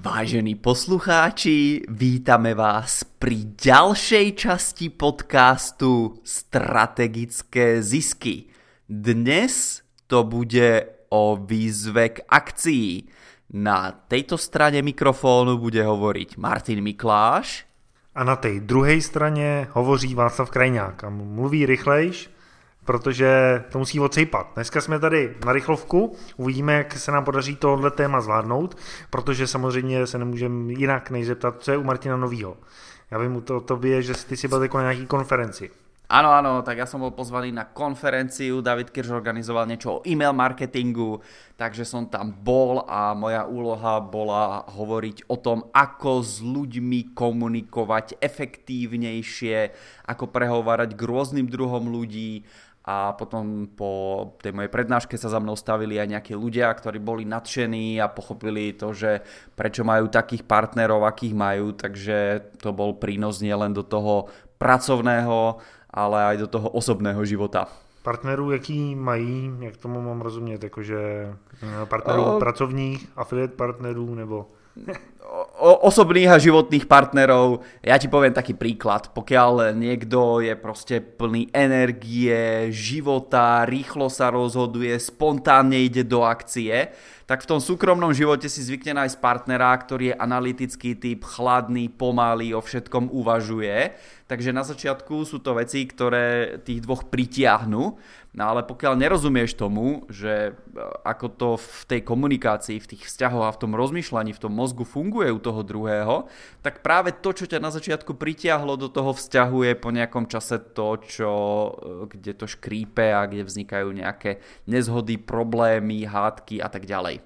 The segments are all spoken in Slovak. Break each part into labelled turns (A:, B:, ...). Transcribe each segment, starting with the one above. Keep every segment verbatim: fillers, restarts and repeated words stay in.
A: Vážení poslucháči, vítame vás pri ďalšej časti podcastu Strategické zisky. Dnes to bude o výzve k akcii. Na tejto strane mikrofónu bude hovoriť Martin Mikláš.
B: A na té druhé straně hovoří Václav Krajňák a mluví rychlejš, protože to musí odsejpat. Dneska jsme tady na rychlovku, uvidíme, jak se nám podaří tohle téma zvládnout, protože samozřejmě se nemůžeme jinak než zeptat, co je u Martina novýho. Já vím u to, tobě, že ty si byl jako na nějaký konferenci.
A: Áno, áno, tak ja som bol pozvaný na konferenciu, David Kirš organizoval niečo o e-mail marketingu, takže som tam bol a moja úloha bola hovoriť o tom, ako s ľuďmi komunikovať efektívnejšie, ako prehovárať k rôznym druhom ľudí. A potom po tej mojej prednáške sa za mnou stavili aj nejakí ľudia, ktorí boli nadšení a pochopili to, že prečo majú takých partnerov, akých majú, takže to bol prínos nielen do toho pracovného, ale aj do toho osobného života.
B: Partnerů, jaký mají, jak tomu mám rozumět, jakože partnerů o... pracovních, affiliate partnerů, nebo...
A: O, osobných a životných partnerov. Ja ti poviem taký príklad. Pokiaľ niekto je proste plný energie, života, rýchlo sa rozhoduje, spontánne ide do akcie, tak v tom súkromnom živote si zvykne nájsť partnera, ktorý je analytický typ, chladný, pomalý, o všetkom uvažuje. Takže na začiatku sú to veci, ktoré tých dvoch pritiahnu. No ale pokiaľ nerozumieš tomu, že ako to v tej komunikácii, v tých vzťahoch a v tom rozmýšľaní, v tom mozgu funguje u toho druhého, tak práve to, čo ťa na začiatku pritiahlo do toho vzťahu, je po nejakom čase to, čo, kde to škrípe a kde vznikajú nejaké nezhody, problémy, hádky a tak ďalej.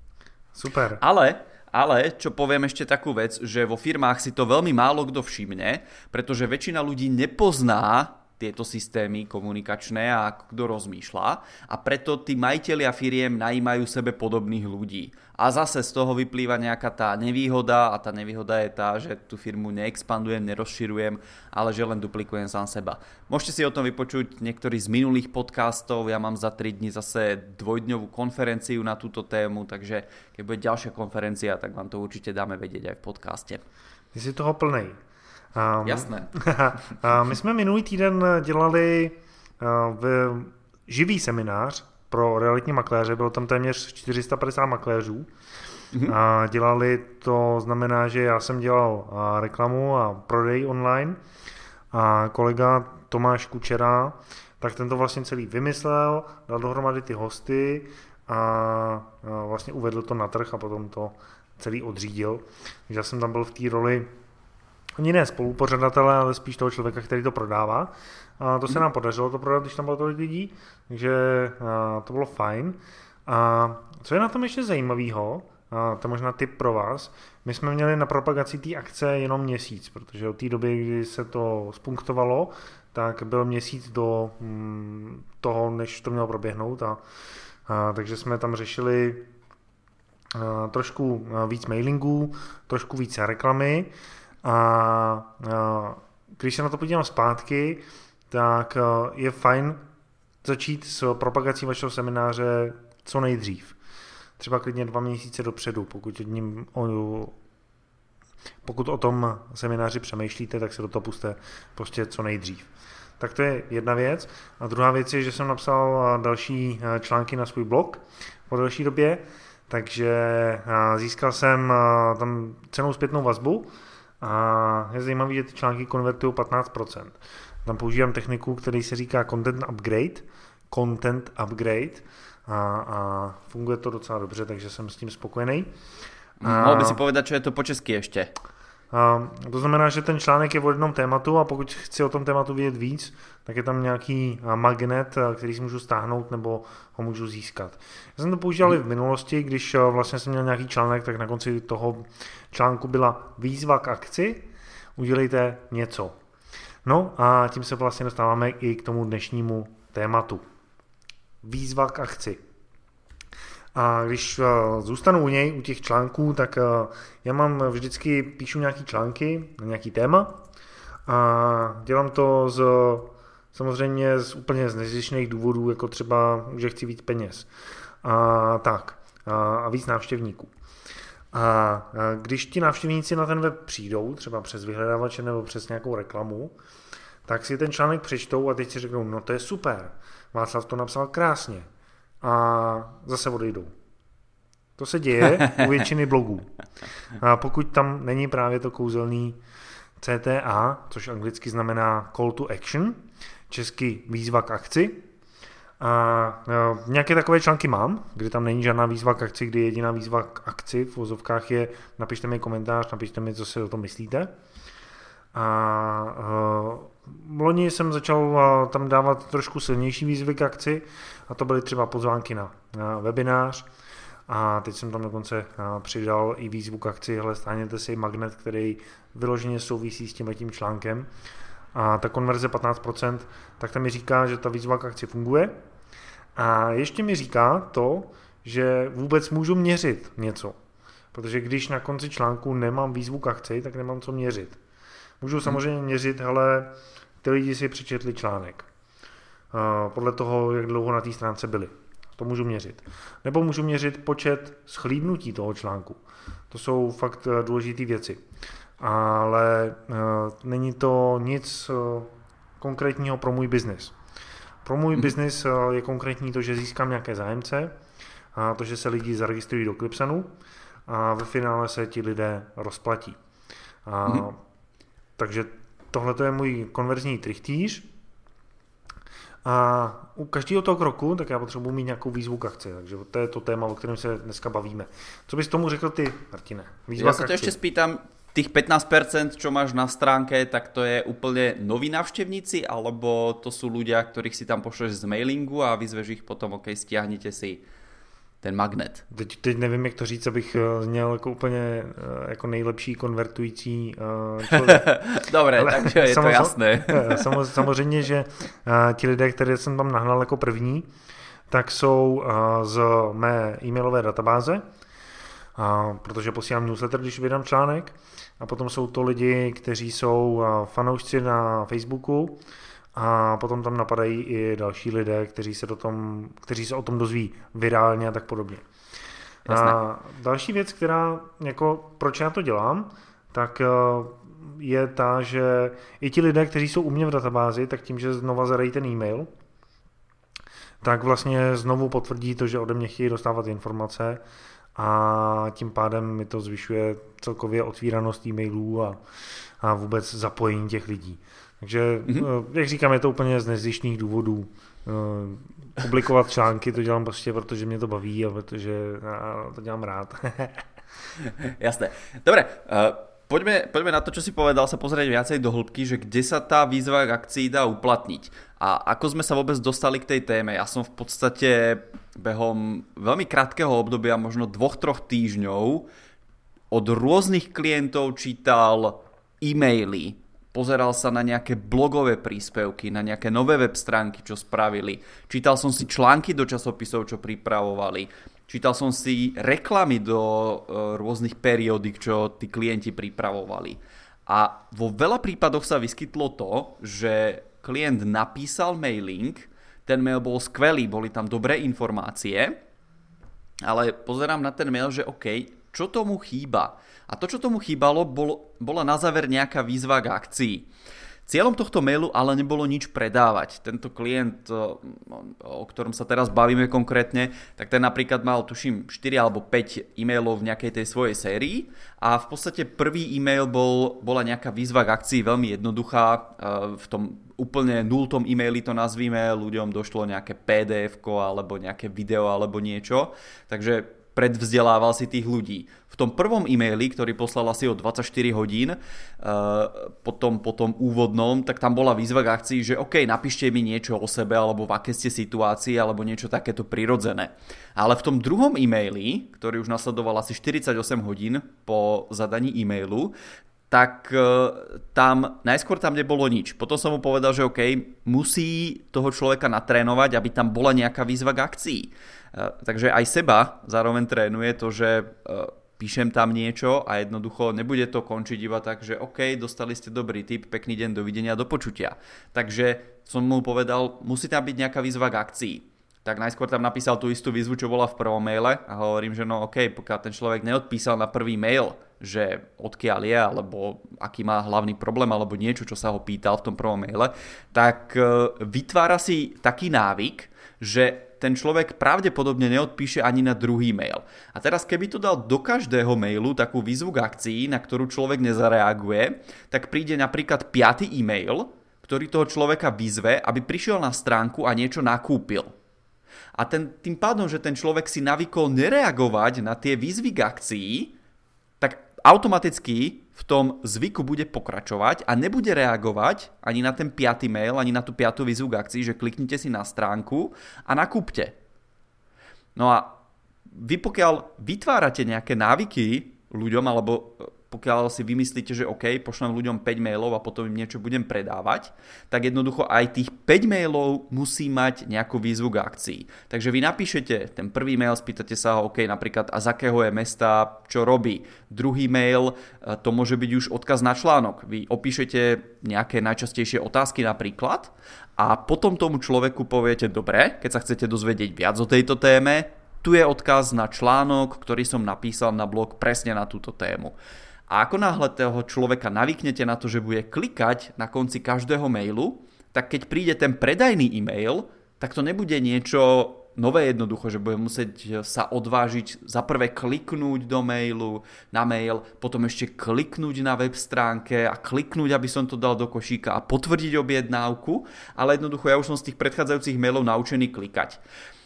B: Super.
A: Ale... Ale, čo poviem ešte takú vec, že vo firmách si to veľmi málo kto všimne, pretože väčšina ľudí nepozná tieto systémy komunikačné a kto rozmýšľa a preto tí majitelia firiem najímajú sebe podobných ľudí. A zase z toho vyplýva nejaká tá nevýhoda a tá nevýhoda je tá, že tú firmu neexpandujem, nerozširujem, ale že len duplikujem sám seba. Môžete si o tom vypočuť niektorý z minulých podcastov, ja mám za tri dni zase dvojdňovú konferenciu na túto tému, takže keď bude ďalšia konferencia, tak vám to určite dáme vedieť aj v podcaste.
B: Ty si toho plnej. Um,
A: Jasné.
B: My jsme minulý týden dělali uh, v živý seminář pro realitní makléře, bylo tam téměř čtyři sta padesát makléřů. Mm-hmm. A dělali to, znamená, že já jsem dělal uh, reklamu a prodej online a kolega Tomáš Kučera, tak ten to vlastně celý vymyslel, dal dohromady ty hosty a uh, vlastně uvedl to na trh a potom to celý odřídil. Takže já jsem tam byl v té roli ani ne spolupořadatele, ale spíš toho člověka, který to prodává. A to se nám podařilo to prodat, když tam bylo tolik lidí, takže to bylo fajn. A co je na tom ještě zajímavého, to je možná tip pro vás, my jsme měli na propagaci té akce jenom měsíc, protože od té doby, kdy se to spunktovalo, tak byl měsíc do toho, než to mělo proběhnout. A, a, takže jsme tam řešili a, trošku víc mailingů, trošku víc reklamy. A, a když se na to podívám zpátky, tak je fajn začít s propagací vašeho semináře co nejdřív. Třeba klidně dva měsíce dopředu, pokud, ním, o, pokud o tom semináři přemýšlíte, tak se do toho puste prostě co nejdřív. Tak to je jedna věc. A druhá věc je, že jsem napsal další články na svůj blog po další době, takže získal jsem tam cenou zpětnou vazbu. A je zajímavé, že ty články konvertují patnáct procent. Tam používám techniku, který se říká content upgrade, content upgrade a, a funguje to docela dobře, takže jsem s tím spokojený.
A: Mohl by si povedať, čo je to po česky ještě?
B: A to znamená, že ten článek je o jednom tématu a pokud chci o tom tématu vědět víc, tak je tam nějaký magnet, který si můžu stáhnout nebo ho můžu získat. Já jsem to používal i v minulosti, když vlastně jsem měl nějaký článek, tak na konci toho článku byla výzva k akci, udělejte něco. No a tím se vlastně dostáváme i k tomu dnešnímu tématu. Výzva k akci. A když zůstanu u něj, u těch článků, tak já mám vždycky, píšu nějaký články na nějaký téma a dělám to z, samozřejmě z úplně z nezištných důvodů, jako třeba, že chci víc peněz a tak a, a víc návštěvníků. A když ti návštěvníci na ten web přijdou, třeba přes vyhledávače nebo přes nějakou reklamu, tak si ten článek přečtou a teď si řeknou, no to je super, Václav to napsal krásně a zase odejdou. To se děje u většiny blogů. A pokud tam není právě to kouzelný C T A, což anglicky znamená Call to Action, česky výzva k akci, a nějaké takové články mám, kdy tam není žádná výzva k akci, kdy jediná výzva k akci v vozovkách je napište mi komentář, napište mi, co si o tom myslíte. A uh, loni jsem začal uh, tam dávat trošku silnější výzvy k akci a to byly třeba pozvánky na, na webinář a teď jsem tam dokonce uh, přidal i výzvu k akci, hele, stáhněte si magnet, který vyloženě souvisí s tímhletím článkem a ta konverze patnáct procent, tak tam mi říká, že ta výzva k akci funguje a ještě mi říká to, že vůbec můžu měřit něco, protože když na konci článku nemám výzvu k akci, tak nemám co měřit. Můžu samozřejmě měřit, ale ty lidi si přečetli článek. Podle toho, jak dlouho na té stránce byli. To můžu měřit. Nebo můžu měřit počet shlídnutí toho článku. To jsou fakt důležité věci. Ale není to nic konkrétního pro můj biznis. Pro můj hmm. biznis je konkrétní to, že získám nějaké zájemce, a to, že se lidi zaregistrují do Clipsanu a ve finále se ti lidé rozplatí. A hmm. Takže tohle je můj konverzní trichtýř a u každého toho kroku tak já potřebuji mít nějakou výzvu k akci, takže to je to téma, o kterém se dneska bavíme. Co bys tomu řekl ty, Martine?
A: Výzva ja sa to ešte spýtam, tých pätnásť percent, čo máš na stránke, tak to je úplne noví návštevníci, alebo to sú ľudia, ktorých si tam pošleš z mailingu a vyzveš ich potom, ok, stiahnite si ten magnet.
B: Teď, teď nevím, jak to říct, abych zněl jako úplně jako nejlepší konvertující člověk.
A: Dobre, ale takže je to jasné.
B: Samozřejmě, že ti lidé, které jsem tam nahnal jako první, tak jsou z mé e-mailové databáze, protože posílám newsletter, když vydám článek, a potom jsou to lidi, kteří jsou fanoušci na Facebooku, a potom tam napadají i další lidé, kteří se, do tom, kteří se o tom dozví virálně a tak podobně. Jasné. A další věc, která, jako, proč já to dělám, tak je ta, že i ti lidé, kteří jsou u mě v databázi, tak tím, že znova zadají ten e-mail, tak vlastně znovu potvrdí to, že ode mě chtějí dostávat informace a tím pádem mi to zvyšuje celkově otvíranost e-mailů a, a vůbec zapojení těch lidí. Takže, mm-hmm. jak říkám, je to úplně z nezištných důvodů. Publikovat články to dělám prostě, protože mě to baví a protože já to dělám rád.
A: Jasné. Dobre, uh, poďme, poďme na to, čo si povedal, sa pozrieť viacej do hĺbky, že kde sa tá výzva k akcii dá uplatniť. A ako sme sa vôbec dostali k tej téme. Ja som v podstate behom veľmi krátkeho obdobia, možno dvoch, troch týždňov, od rôznych klientov čítal e-maily, pozeral sa na nejaké blogové príspevky, na nejaké nové web stránky, čo spravili. Čítal som si články do časopisov, čo pripravovali. Čítal som si reklamy do uh, rôznych periódik, čo tí klienti pripravovali. A vo veľa prípadoch sa vyskytlo to, že klient napísal mailing, ten mail bol skvelý, boli tam dobré informácie, ale pozerám na ten mail, že OK, čo tomu chýba? A to, čo tomu chýbalo, bol, bola na záver nejaká výzva k akcii. Cieľom tohto mailu ale nebolo nič predávať. Tento klient, o ktorom sa teraz bavíme konkrétne, tak ten napríklad mal, tuším, štyri alebo päť e-mailov v nejakej tej svojej sérii a v podstate prvý e-mail bol, bola nejaká výzva k akcii, veľmi jednoduchá. V tom úplne nultom e-maili to nazvíme, ľuďom došlo nejaké pé dé efko alebo nejaké video alebo niečo, takže predvzdelával si tých ľudí. V tom prvom e-maili, ktorý poslal asi o dvadsaťštyri hodín, uh, potom, potom úvodnom, tak tam bola výzva k akcii, že OK, napíšte mi niečo o sebe, alebo v aké ste situácii, alebo niečo takéto prirodzené. Ale v tom druhom e-maili, ktorý už nasledoval asi štyridsaťosem hodín po zadaní e-mailu, tak uh, tam, najskôr tam nebolo nič. Potom som mu povedal, že OK, musí toho človeka natrénovať, aby tam bola nejaká výzva k akcii. Uh, takže aj seba zároveň trénuje to, že uh, píšem tam niečo a jednoducho nebude to končiť iba tak, že OK, dostali ste dobrý tip, pekný deň, dovidenia, do počutia. Takže som mu povedal, musí tam byť nejaká výzva k akcii. tak najskôr tam napísal tú istú výzvu, čo bola v prvom maile a hovorím, že no okej, okay, pokiaľ ten človek neodpísal na prvý mail, že odkiaľ je, alebo aký má hlavný problém, alebo niečo, čo sa ho pýtal v tom prvom maile, tak vytvára si taký návyk, že ten človek pravdepodobne neodpíše ani na druhý mail. A teraz keby to dal do každého mailu takú výzvu k akcii, na ktorú človek nezareaguje, tak príde napríklad piaty e-mail, ktorý toho človeka vyzve, aby prišiel na stránku a niečo nakúpil. A ten, tým pádom, že ten človek si navykol nereagovať na tie výzvy k akcii, tak automaticky v tom zvyku bude pokračovať a nebude reagovať ani na ten piaty mail, ani na tú piatú výzvu k akcii, že kliknite si na stránku a nakúpte. No a vy pokiaľ vytvárate nejaké návyky ľuďom, alebo pokiaľ si vymyslíte, že OK, pošlem ľuďom päť mailov a potom im niečo budem predávať, tak jednoducho aj tých päť mailov musí mať nejakú výzvu k akcii. Takže vy napíšete ten prvý mail, spýtate sa ho, OK, napríklad a z akého je mesta, čo robí. Druhý mail, to môže byť už odkaz na článok. Vy opíšete nejaké najčastejšie otázky napríklad a potom tomu človeku poviete, dobre, keď sa chcete dozvedieť viac o tejto téme, tu je odkaz na článok, ktorý som napísal na blog presne na túto tému. A ako náhle toho človeka navyknete na to, že bude klikať na konci každého mailu, tak keď príde ten predajný e-mail, tak to nebude niečo nové jednoducho, že bude musieť sa odvážiť za prvé kliknúť do mailu, na mail, potom ešte kliknúť na web stránke a kliknúť, aby som to dal do košíka a potvrdiť objednávku, ale jednoducho ja už som z tých predchádzajúcich mailov naučený klikať.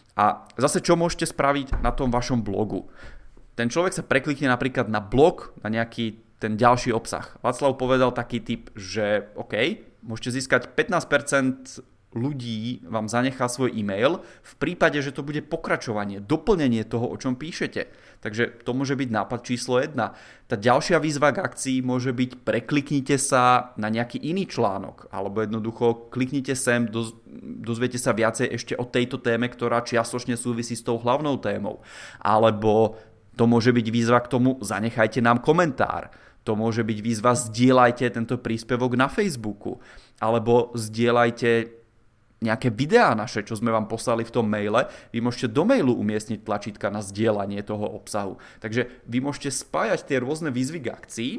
A: A zase čo môžete spraviť na tom vašom blogu? Ten človek sa preklikne napríklad na blog, na nejaký ten ďalší obsah. Václav povedal taký tip, že OK, môžete získať pätnásť percent ľudí vám zanechá svoj e-mail v prípade, že to bude pokračovanie, doplnenie toho, o čom píšete. Takže to môže byť nápad číslo jedna. Tá ďalšia výzva k akcii môže byť prekliknite sa na nejaký iný článok alebo jednoducho kliknite sem, doz, dozviete sa viacej ešte o tejto téme, ktorá čiastočne súvisí s tou hlavnou témou. Alebo to môže byť výzva k tomu, zanechajte nám komentár. To môže byť výzva, zdieľajte tento príspevok na Facebooku. Alebo zdieľajte nejaké videá naše, čo sme vám poslali v tom maile. Vy môžete do mailu umiestniť tlačítka na zdieľanie toho obsahu. Takže vy môžete spájať tie rôzne výzvy k akcii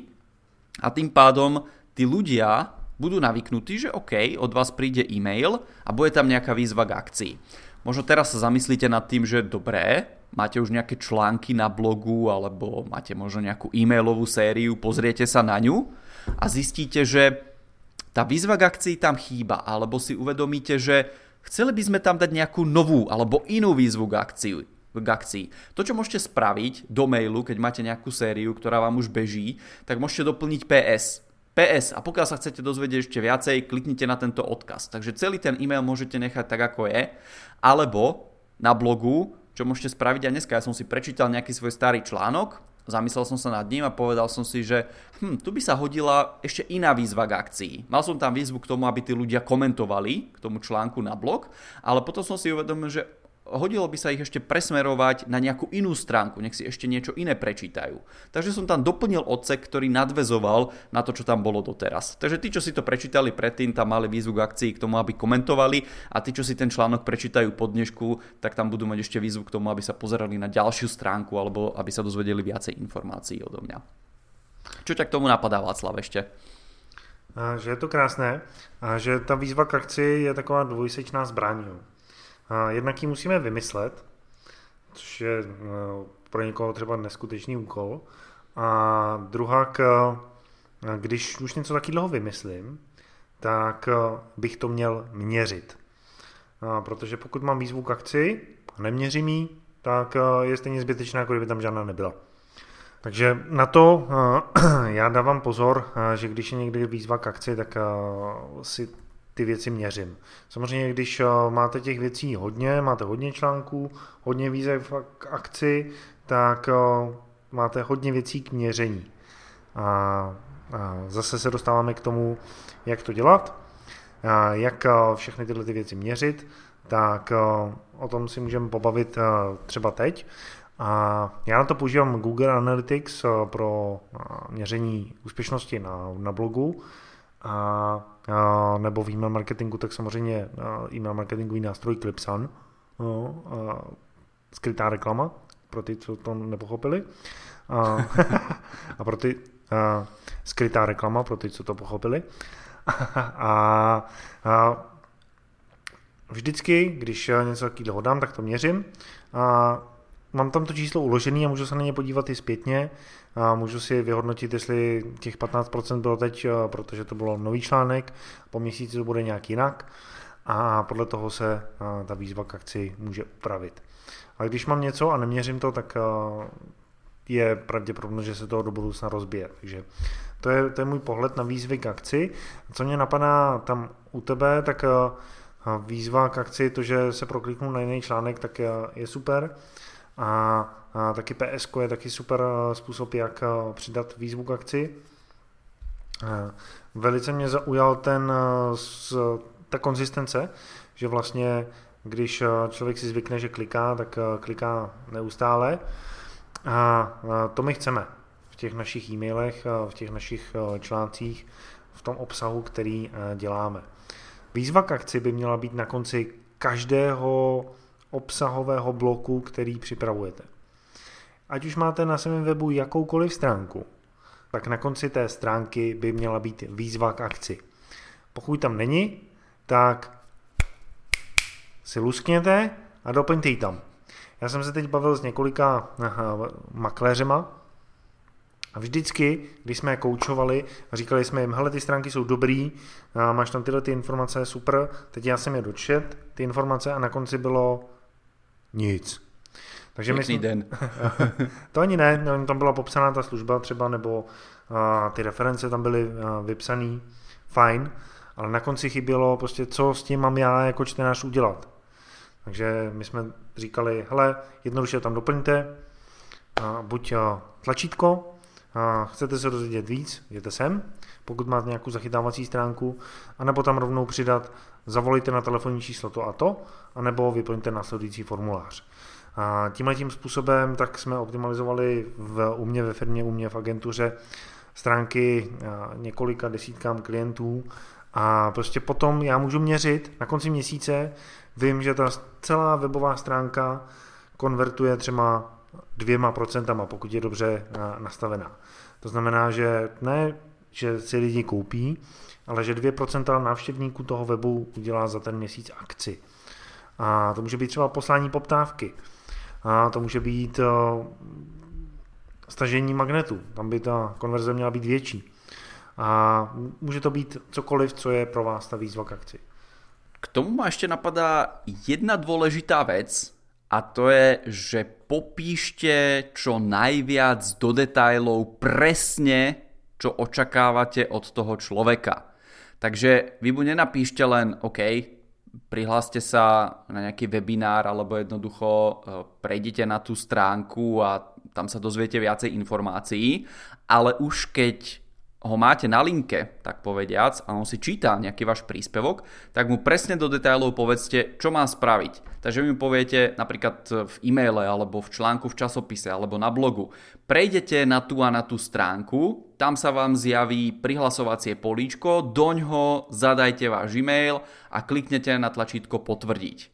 A: a tým pádom tí ľudia budú navyknutí, že OK, od vás príde e-mail a bude tam nejaká výzva k akcii. Možno teraz sa zamyslíte nad tým, že dobré, máte už nejaké články na blogu alebo máte možno nejakú e-mailovú sériu, pozriete sa na ňu a zistíte, že tá výzva k akcii tam chýba, alebo si uvedomíte, že chceli by sme tam dať nejakú novú alebo inú výzvu k akcii. K akcii. To, čo môžete spraviť do mailu, keď máte nejakú sériu, ktorá vám už beží, tak môžete doplniť pé es. pé es. A pokiaľ sa chcete dozvedieť ešte viacej, kliknite na tento odkaz. Takže celý ten e-mail môžete nechať tak, ako je. Alebo na blogu, čo môžete spraviť aj dneska. Ja som si prečítal nejaký svoj starý článok, zamyslel som sa nad ním a povedal som si, že hm, tu by sa hodila ešte iná výzva k akcii. Mal som tam výzvu k tomu, aby tí ľudia komentovali k tomu článku na blog, ale potom som si uvedomil, že hodilo by sa ich ešte presmerovať na nejakú inú stránku, nech si ešte niečo iné prečítajú. Takže som tam doplnil odsek, ktorý nadväzoval na to, čo tam bolo doteraz. Takže tí, čo si to prečítali predtým, tam mali výzvu k akcii k tomu, aby komentovali a tí, čo si ten článok prečítajú po dnešku, tak tam budú mať ešte výzvu k tomu, aby sa pozerali na ďalšiu stránku alebo aby sa dozvedeli viacej informácií odo mňa. Čo ťa k tomu napadá, Václav, ešte?
B: A že je to krásné a že ta výzva k akci je taková dvojsečná zbraň. Jednak ji musíme vymyslet, což je pro někoho třeba neskutečný úkol. A druhá, když už něco takového vymyslím, tak bych to měl měřit. Protože pokud mám výzvu k akci a neměřím ji, tak je stejně zbytečná, jako kdyby tam žádná nebyla. Takže na to já dávám pozor, že když je někdy výzva k akci, tak si ty věci měřím. Samozřejmě, když máte těch věcí hodně, máte hodně článků, hodně výzev k akci, tak máte hodně věcí k měření. A zase se dostáváme k tomu, jak to dělat, jak všechny tyhle ty věci měřit, tak o tom si můžeme pobavit třeba teď. A já na to používám Google Analytics pro měření úspěšnosti na, na blogu. A, a nebo v e-mail marketingu, tak samozřejmě e-mail marketingový nástroj Clipsun, No, a skrytá reklama, pro ty, co to nepochopili. A, a pro ty a, skrytá reklama, pro ty, co to pochopili. A, a vždycky, když něco takového dám, tak to měřím. A mám tam to číslo uložené a můžu se na ně podívat i zpětně. A můžu si vyhodnotit, jestli těch patnáct procent bylo teď, protože to bylo nový článek, po měsíci to bude nějak jinak. A podle toho se ta výzva k akci může upravit. A když mám něco a neměřím to, tak je pravděpodobné, že se toho do budoucna rozbije. Takže to je, to je můj pohled na výzvy k akci. Co mě napadá tam u tebe, tak výzva k akci, to, že se prokliknu na jiný článek, tak je super. A, a taky P S je taky super způsob, jak přidat výzvu k akci. Velice mě zaujal ten, ta konzistence, že vlastně, když člověk si zvykne, že kliká, tak kliká neustále. A to my chceme v těch našich e-mailech, v těch našich článcích, v tom obsahu, který děláme. Výzva k akci by měla být na konci každého obsahového bloku, který připravujete. Ať už máte na svém webu jakoukoliv stránku, tak na konci té stránky by měla být výzva k akci. Pokud tam není, tak si luskněte a doplňte ji tam. Já jsem se teď bavil s několika aha, makléřema a vždycky, když jsme je koučovali a říkali jsme jim, hele, ty stránky jsou dobrý, máš tam tyhle ty informace, super, teď já jsem je dočet, ty informace a na konci bylo nic. Takže
A: Pěkný den.
B: To ani ne, tam byla popsaná ta služba třeba, nebo a, ty reference tam byly a, vypsaný, fajn, ale na konci chybělo prostě, co s tím mám já jako čtenář udělat. Takže my jsme říkali, hele, jednoduše tam doplňte, a, buď a, tlačítko, a chcete se dozvědět víc, jděte sem, pokud máte nějakou zachytávací stránku, anebo tam rovnou přidat, zavolejte na telefonní číslo to a to, anebo vyplňte následující formulář. A tímhletím způsobem tak jsme optimalizovali v, u mě ve firmě, u mě v agentuře stránky několika desítkám klientů a prostě potom já můžu měřit na konci měsíce, vím, že ta celá webová stránka konvertuje třeba dvěma procentama, pokud je dobře nastavená. To znamená, že ne, že si lidi koupí, ale že dvě procenta návštěvníků toho webu udělá za ten měsíc akci. A to může být třeba poslání poptávky. A to může být uh, stažení magnetu. Tam by ta konverze měla být větší. A může to být cokoliv, co je pro vás ta výzva k akci.
A: K tomu ma ešte napadá jedna dôležitá vec a to je, že popíšte čo najviac do detailov presne, čo očakávate od toho človeka. Takže vy mu nenapíšte len OK, prihláste sa na nejaký webinár alebo jednoducho prejdite na tú stránku a tam sa dozviete viacej informácií, ale už keď ho máte na linke, tak povediac, a on si číta nejaký váš príspevok, tak mu presne do detailov povedzte, čo má spraviť. Takže vy mu poviete napríklad v e-maile, alebo v článku v časopise, alebo na blogu. Prejdete na tú a na tú stránku, tam sa vám zjaví prihlasovacie políčko, doňho zadajte váš e-mail a kliknete na tlačítko potvrdiť.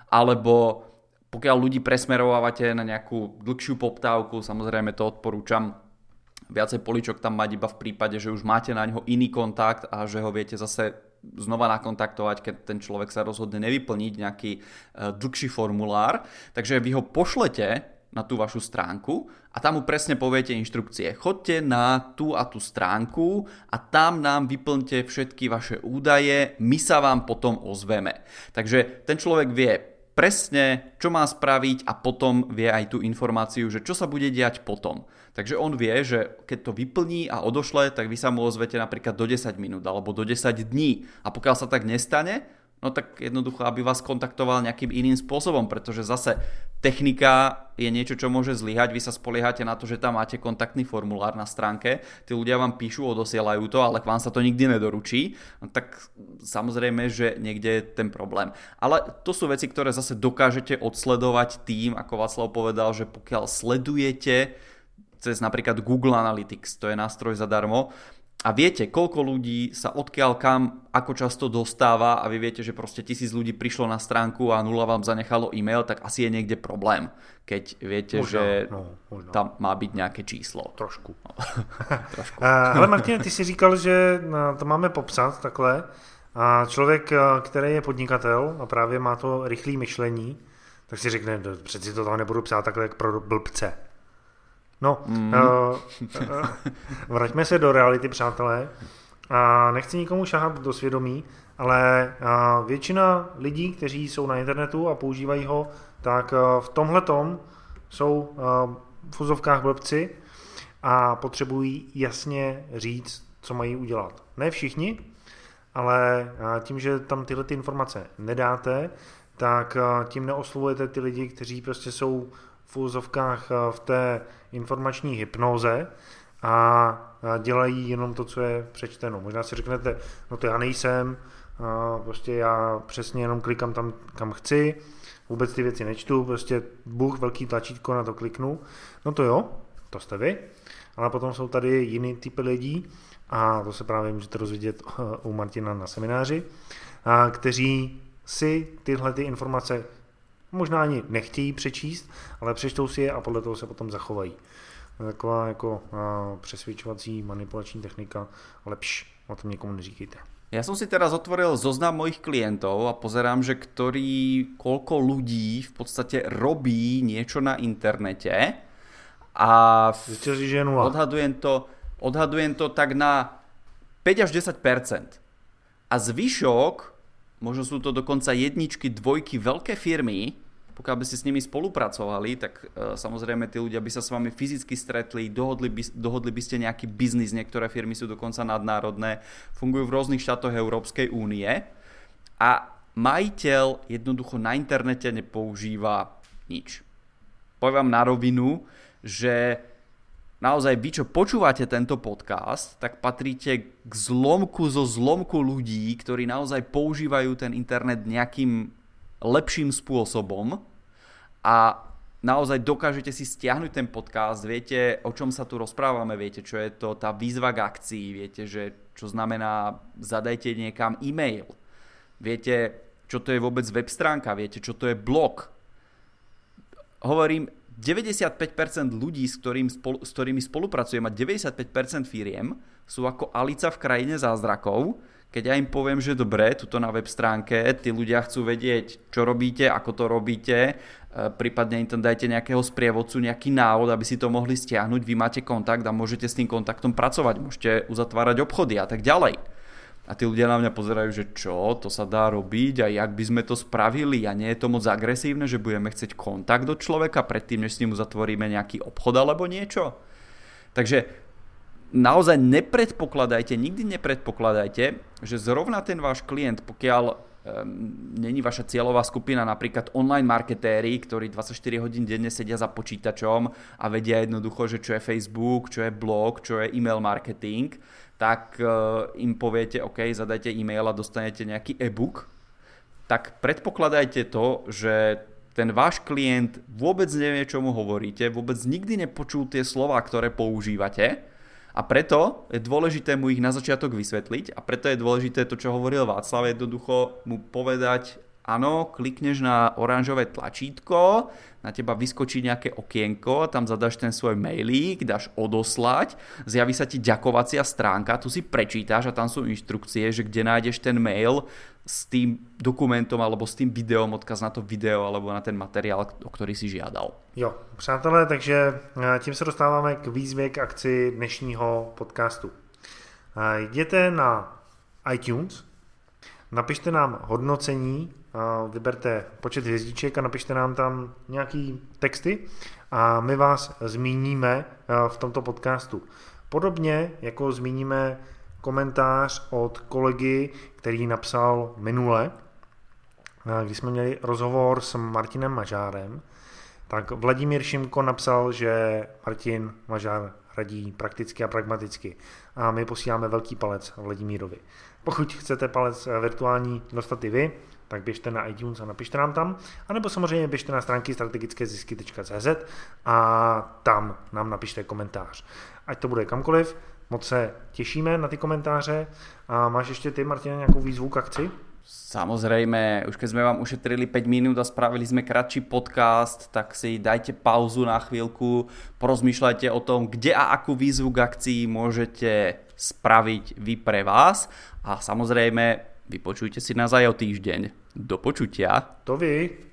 A: Alebo pokiaľ ľudí presmerovávate na nejakú dlhšiu poptávku, samozrejme to odporúčam, viacej políčok tam mať iba v prípade, že už máte na ňo iný kontakt a že ho viete zase znova nakontaktovať, keď ten človek sa rozhodne nevyplniť nejaký dlhší formulár. Takže vy ho pošlete na tú vašu stránku a tam mu presne poviete inštrukcie. Choďte na tú a tú stránku a tam nám vyplňte všetky vaše údaje, my sa vám potom ozveme. Takže ten človek vie presne, čo má spraviť a potom vie aj tú informáciu, že čo sa bude diať potom. Takže on vie, že keď to vyplní a odošle, tak vy sa mu ozvete napríklad do desať minút alebo do desať dní. A pokiaľ sa tak nestane, no tak jednoducho, aby vás kontaktoval nejakým iným spôsobom, pretože zase technika je niečo, čo môže zlyhať. Vy sa spoliehate na to, že tam máte kontaktný formulár na stránke, tí ľudia vám píšu, odosielajú to, ale k vám sa to nikdy nedoručí, no tak samozrejme, že niekde je ten problém. Ale to sú veci, ktoré zase dokážete odsledovať tým, ako Václav povedal, že pokiaľ sledujete cez napríklad Google Analytics, to je nástroj zadarmo, a viete, koľko ľudí sa odkiaľ kam, ako často dostáva a vy viete, že proste tisíc ľudí prišlo na stránku a nula vám zanechalo e-mail, tak asi je niekde problém, keď viete, možno, že no, možno. Tam má byť nejaké číslo.
B: Trošku.
A: No. Trošku.
B: Ale Martine, ty si říkal, že to máme popsat takhle a člověk, který je podnikatel a právě má to rychlé myšlení, tak si řekne, přeci to tam nebudu psát takhle jak pro blbce. No, mm. uh, uh, vraťme se do reality, přátelé. A nechci nikomu šahat do svědomí, ale uh, většina lidí, kteří jsou na internetu a používají ho, tak uh, v tomhletom jsou uh, v úzovkách blbci a potřebují jasně říct, co mají udělat. Ne všichni, ale uh, tím, že tam tyhle ty informace nedáte, tak uh, tím neoslovujete ty lidi, kteří prostě jsou v úzovkách v té informační hypnoze a dělají jenom to, co je přečteno. Možná si řeknete, no to já nejsem, prostě já přesně jenom klikám tam, kam chci, vůbec ty věci nečtu, prostě bůh, velký tlačítko, na to kliknu. No to jo, to jste vy, ale potom jsou tady jiný typy lidí a to se právě můžete rozvidět u Martina na semináři, kteří si tyhle ty informace možná ani nechtějí přečíst, ale přečtou si je a podle toho se potom zachovají. Taková jako a, přesvědčovací manipulační technika, ale pš, o tom nikomu neříkejte.
A: Ja som si teraz otvoril zoznam mojich klientov a pozerám, že ktorý, koľko ľudí v podstate robí niečo na internete a
B: Zistil si, že je nula.
A: Odhadujem to, odhadujem to tak na päť až desať percent. A zvyšok, možno sú to dokonca jedničky, dvojky, veľké firmy, pokiaľ by ste s nimi spolupracovali, tak e, samozrejme tí ľudia by sa s vami fyzicky stretli, dohodli by, dohodli by ste nejaký biznis, niektoré firmy sú dokonca nadnárodné, fungujú v rôznych štátoch Európskej únie a majiteľ jednoducho na internete nepoužíva nič. Poviem vám na rovinu, že naozaj vy, čo počúvate tento podcast, tak patríte k zlomku zo zlomku ľudí, ktorí naozaj používajú ten internet nejakým lepším spôsobom a naozaj dokážete si stiahnuť ten podcast, viete, o čom sa tu rozprávame, viete, čo je to tá výzva k akcii, viete, že čo znamená zadajte niekam e-mail, viete, čo to je vôbec web stránka, viete, čo to je blog. Hovorím, deväťdesiatpäť percent ľudí, s, ktorým spolu, s ktorými spolupracujem a deväťdesiatpäť percent firiem sú ako Alica v krajine zázrakov. Keď ja im poviem, že dobre, tuto na web stránke, tí ľudia chcú vedieť, čo robíte, ako to robíte, prípadne im tam dajte nejakého sprievodcu, nejaký návod, aby si to mohli stiahnuť, vy máte kontakt a môžete s tým kontaktom pracovať, môžete uzatvárať obchody a tak ďalej. A tí ľudia na mňa pozerajú, že čo, to sa dá robiť a jak by sme to spravili a nie je to moc agresívne, že budeme chcieť kontakt do človeka predtým, než s ním uzatvoríme nejaký obchod alebo niečo. Takže naozaj nepredpokladajte, nikdy nepredpokladajte, že zrovna ten váš klient, pokiaľ um, není vaša cieľová skupina napríklad online marketéri, ktorí dvadsaťštyri hodín denne sedia za počítačom a vedia jednoducho, že čo je Facebook, čo je blog, čo je e-mail marketing, tak uh, im poviete, OK, zadajte e-mail a dostanete nejaký e-book, tak predpokladajte to, že ten váš klient vôbec nevie, čo mu hovoríte, vôbec nikdy nepočul tie slová, ktoré používate. A preto je dôležité mu ich na začiatok vysvetliť a preto je dôležité to, čo hovoril Václav, jednoducho mu povedať, áno, klikneš na oranžové tlačítko, na teba vyskočí nejaké okienko, tam zadaš ten svoj mailík, dáš odoslať, zjaví sa ti ďakovacia stránka, tu si prečítaš a tam sú inštrukcie, že kde nájdeš ten mail s tým dokumentom alebo s tým videom, odkaz na to video alebo na ten materiál, o ktorý si žiadal.
B: Jo, přátelé, takže tím se dostáváme k výzvě k akci dnešního podcastu. Jděte na iTunes, napište nám hodnocení, vyberte počet hvězdiček a napište nám tam nějaký texty a my vás zmíníme v tomto podcastu. Podobně jako zmíníme komentář od kolegy, který napsal minule, když jsme měli rozhovor s Martinem Mažárem, tak Vladimír Šimko napsal, že Martin Mažár radí prakticky a pragmaticky a my posíláme velký palec Vladimírovi. Pokud chcete palec virtuální dostat i vy, tak běžte na iTunes a napište nám tam, anebo samozřejmě běžte na stránky strategické zisky tečka cé zet a tam nám napište komentář. Ať to bude kamkoliv, Moc se těšíme na ty komentáře. A máš ještě ty, Martina, nějakou výzvu k akci?
A: Samozrejme, už keď sme vám ušetrili päť minút a spravili sme kratší podcast, tak si dajte pauzu na chvíľku, porozmýšľajte o tom, kde a akú výzvu k akcii môžete spraviť vy pre vás a samozrejme vypočujte si nás aj o týždeň. Do počutia.
B: To vy.